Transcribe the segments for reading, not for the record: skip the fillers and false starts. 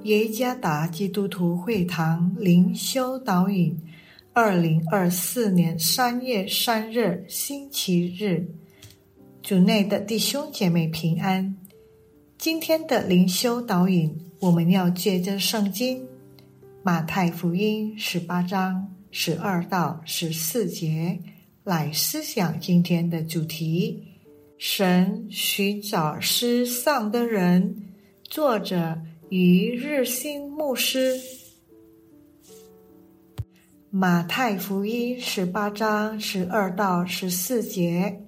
耶加达基督徒会堂灵修导引，2024年3月3日星期日，主内的弟兄姐妹平安。今天的灵修导引，我们要借着圣经马太福音18章12到14节来思想今天的主题：神寻找失丧的人。作者于日新牧师。马太福音18章12到14节，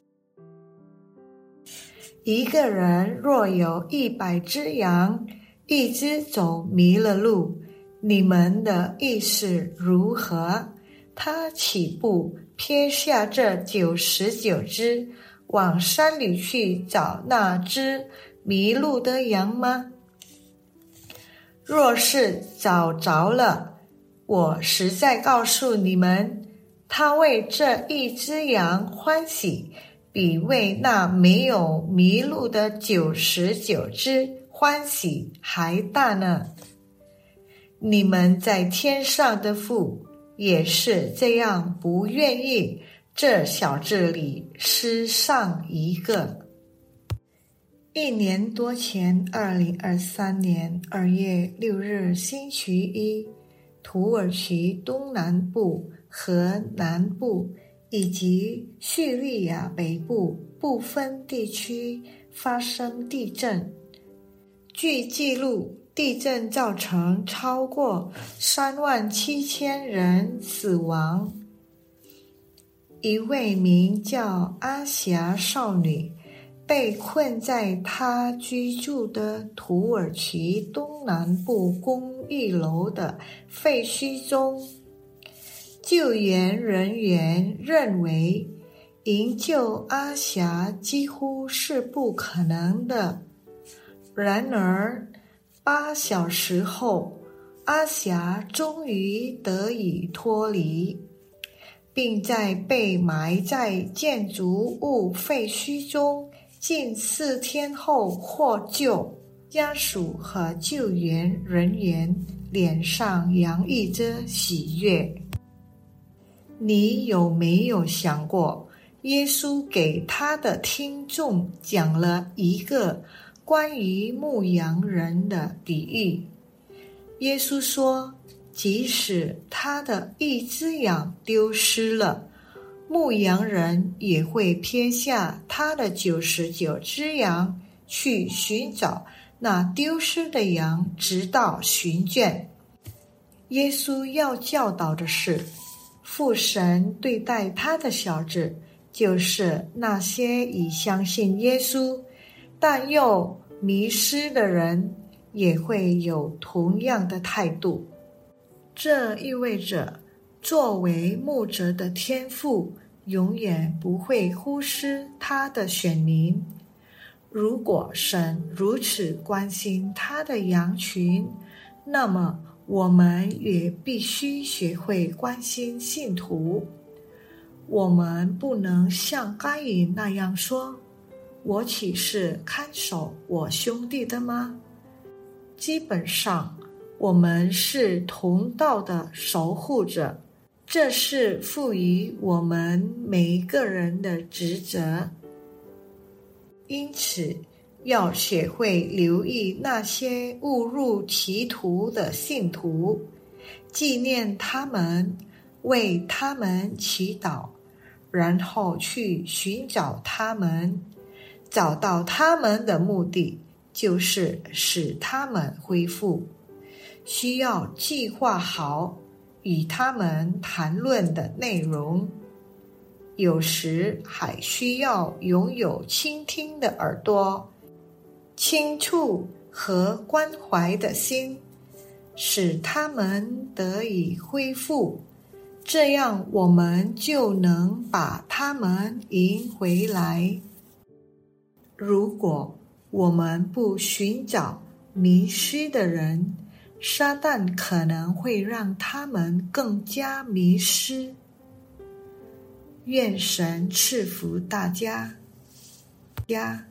一个人若有100只羊，一只走迷了路，你们的意思如何？他岂不撇下这99只，往山里去找那只迷路的羊吗？若是找着了，我实在告诉你们，他为这一只羊欢喜，比为那没有迷路的99只欢喜还大呢。你们在天上的父也是这样不愿意这小子里失丧一个。1年多前，2023年2月6日星期一，土耳其东南部和南部以及叙利亚北部部分地区发生地震。据记录，地震造成超过37000人死亡。一位名叫阿霞少女被困在她居住的土耳其东南部公寓楼的废墟中。救援人员认为，营救阿霞几乎是不可能的。然而，8小时后，阿霞终于得以脱离，并在被埋在建筑物废墟中近4天后获救。家属和救援人员脸上洋溢着喜悦。你有没有想过，耶稣给他的听众讲了一个关于牧羊人的比喻？耶稣说，即使他的一只羊丢失了，牧羊人也会撇下他的99只羊去寻找那丢失的羊，直到寻见。耶稣要教导的是，父神对待他的小子，就是那些已相信耶稣但又迷失的人，也会有同样的态度。这意味着，作为牧者的天父永远不会忽视他的选民。如果神如此关心他的羊群，那么我们也必须学会关心信徒。我们不能像该隐那样说，我岂是看守我兄弟的吗？基本上，我们是同道的守护者，这是赋予我们每一个人的职责。因此，要学会留意那些误入歧途的信徒，纪念他们，为他们祈祷，然后去寻找他们。找到他们的目的，就是使他们恢复。需要计划好与他们谈论的内容，有时还需要拥有倾听的耳朵、轻触和关怀的心，使他们得以恢复。这样我们就能把他们迎回来。如果我们不寻找迷失的人，撒旦可能会让他们更加迷失。愿神赐福大家。